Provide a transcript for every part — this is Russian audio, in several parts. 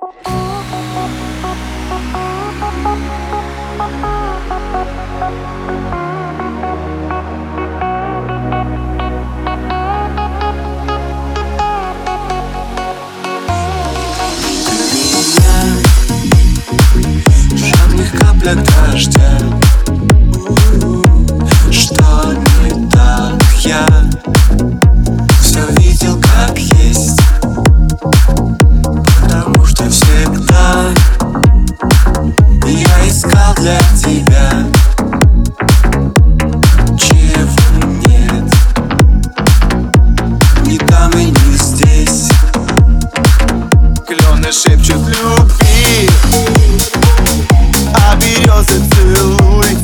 Капля дождя. Что не так, я все видел как есть, потому что всегда я искал для тебя, чего нет ни там и не здесь. Клены шепчут люби, а березы целуй.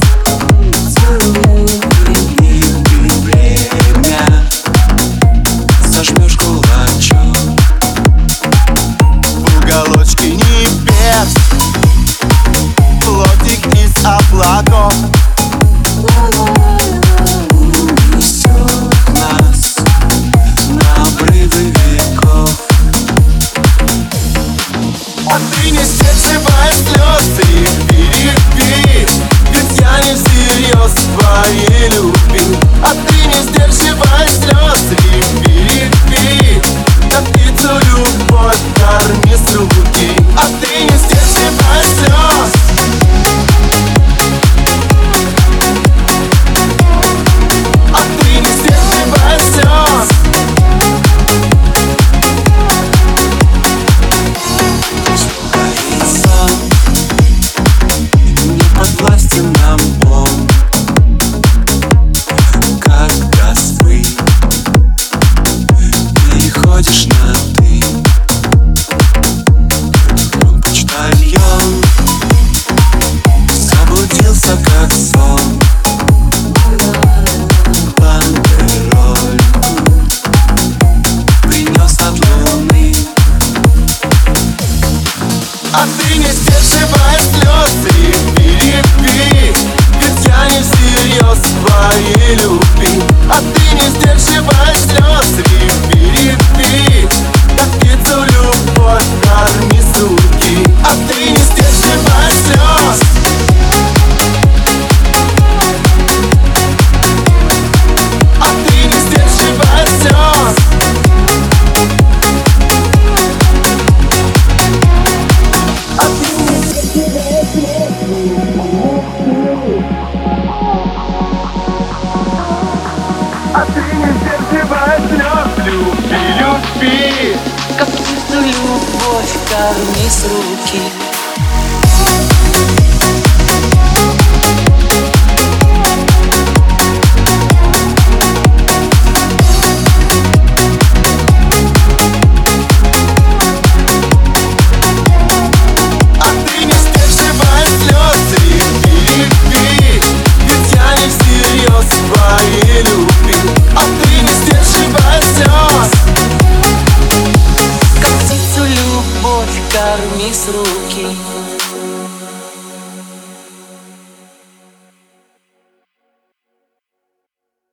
И ты время зажмешь кулачок в уголочке небес, плотик из облаков унесет нас на обрывы веков. А ты не сдерживай слез и перепи, ведь я не всерьез твоей любви. А ты не сдерживай слез и перепи, как птицу любовь корми с руки. А ты не сдерживай слез. А ты не сдерживай слез. Властен нам он, когда свы переходишь на ты. Он почтальон заблудился как сон, бандерольку принес от луны. А ты не сдерживай слез и перепи, ведь я не всерьез твоей любви. А ты не сдерживай слез и перепи, как птицу любовь корми с руки. А ты не сдерживай слез. А ты не сдерживай слез. А ты не сдерживай слез. Люби, люби, как птицу любовь корми с руки. Корми с руки.